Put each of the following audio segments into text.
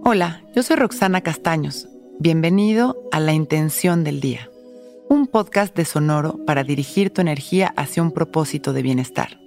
Hola, yo soy Roxana Castaños. Bienvenido a La Intención del Día, un podcast de Sonoro para dirigir tu energía hacia un propósito de bienestar.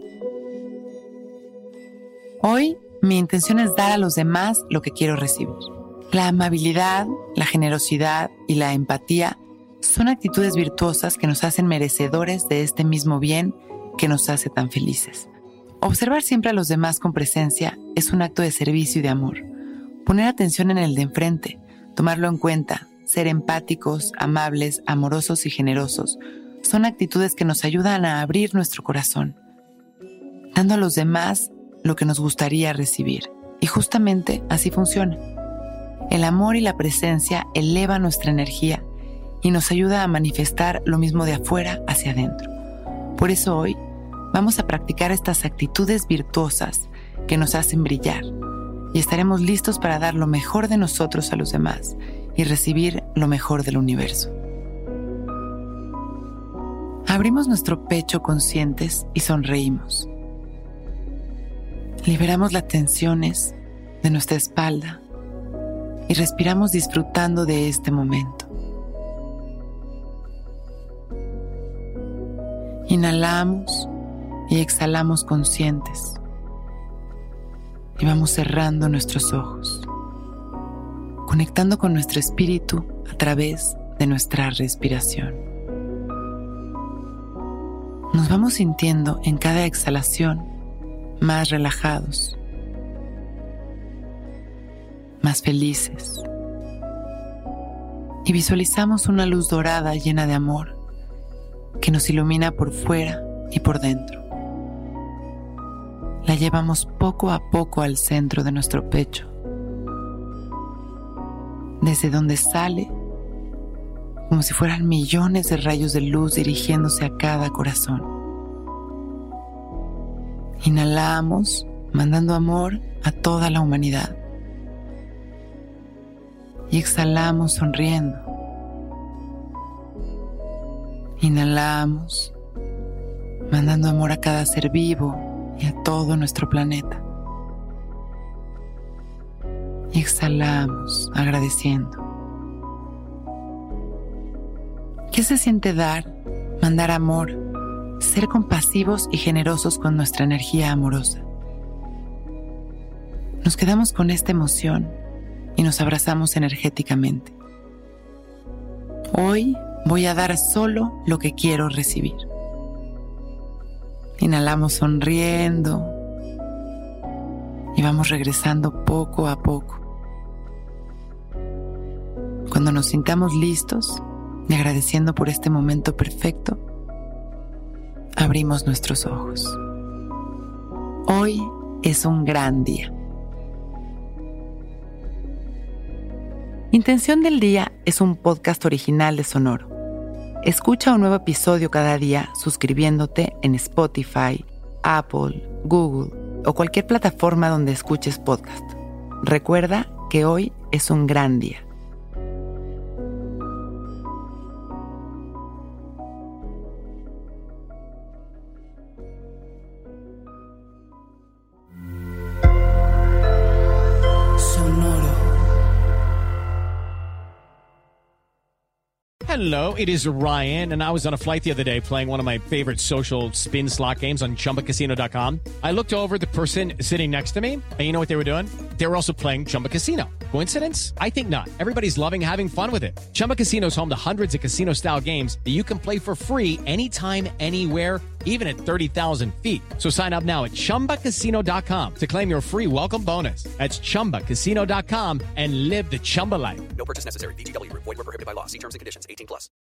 Hoy, mi intención es dar a los demás lo que quiero recibir. La amabilidad, la generosidad y la empatía son actitudes virtuosas que nos hacen merecedores de este mismo bien que nos hace tan felices. Observar siempre a los demás con presencia es un acto de servicio y de amor. Poner atención en el de enfrente, tomarlo en cuenta, ser empáticos, amables, amorosos y generosos son actitudes que nos ayudan a abrir nuestro corazón, dando a los demás lo que nos gustaría recibir. Y justamente así funciona. El amor y la presencia elevan nuestra energía y nos ayuda a manifestar lo mismo de afuera hacia adentro. Por eso hoy vamos a practicar estas actitudes virtuosas que nos hacen brillar y estaremos listos para dar lo mejor de nosotros a los demás y recibir lo mejor del universo. Abrimos nuestro pecho conscientes y sonreímos. Liberamos las tensiones de nuestra espalda y respiramos disfrutando de este momento. Inhalamos y exhalamos conscientes. Y vamos cerrando nuestros ojos, conectando con nuestro espíritu a través de nuestra respiración. Nos vamos sintiendo en cada exhalación más relajados, más felices. Y visualizamos una luz dorada llena de amor que nos ilumina por fuera y por dentro. La llevamos poco a poco al centro de nuestro pecho, desde donde sale como si fueran millones de rayos de luz dirigiéndose a cada corazón. Inhalamos, mandando amor a toda la humanidad. Y exhalamos sonriendo. Inhalamos, mandando amor a cada ser vivo y a todo nuestro planeta. Y exhalamos, agradeciendo. ¿Qué se siente dar, mandar amor, ser compasivos y generosos con nuestra energía amorosa? Nos quedamos con esta emoción y nos abrazamos energéticamente. Hoy voy a dar solo lo que quiero recibir. Inhalamos sonriendo y vamos regresando poco a poco. Cuando nos sintamos listos y agradeciendo por este momento perfecto, abrimos nuestros ojos. Hoy es un gran día. Intención del Día es un podcast original de Sonoro. Escucha un nuevo episodio cada día suscribiéndote en Spotify, Apple, Google o cualquier plataforma donde escuches podcast. Recuerda que hoy es un gran día. Hello, it is Ryan, and I was on a flight the other day playing one of my favorite social spin slot games on ChumbaCasino.com. I looked over at the person sitting next to me, and you know what they were doing? They were also playing Chumba Casino. Coincidence? I think not. Everybody's loving having fun with it. Chumba Casino is home to hundreds of casino-style games that you can play for free anytime, anywhere, even at 30,000 feet. So sign up now at ChumbaCasino.com to claim your free welcome bonus. That's ChumbaCasino.com and live the Chumba life. No purchase necessary. VGW Group. Void where prohibited by law. See terms and conditions. 18+.